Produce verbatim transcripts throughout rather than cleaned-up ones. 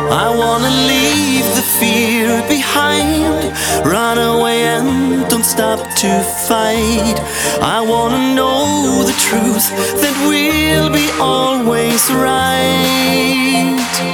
I wanna leave the fear behind, run away and don't stop to fight. I wanna know the truth, that we'll be always right.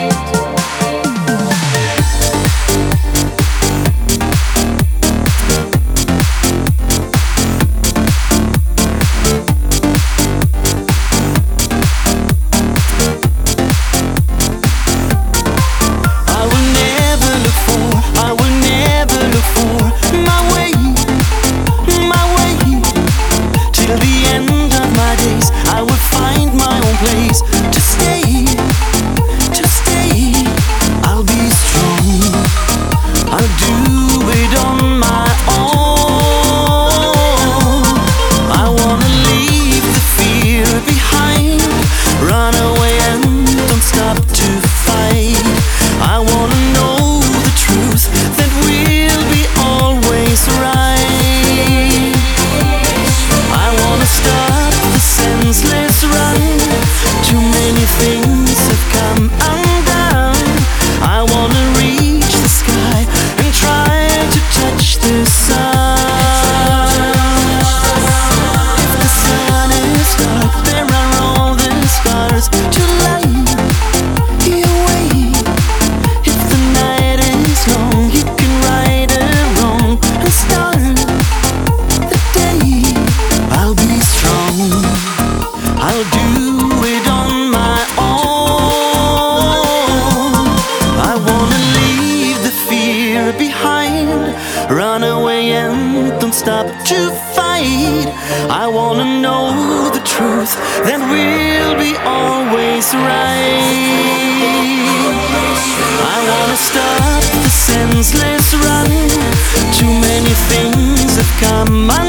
Run away and don't stop to fight. I wanna know the truth, that we'll be always right. I wanna stop the senseless run. Too many things have come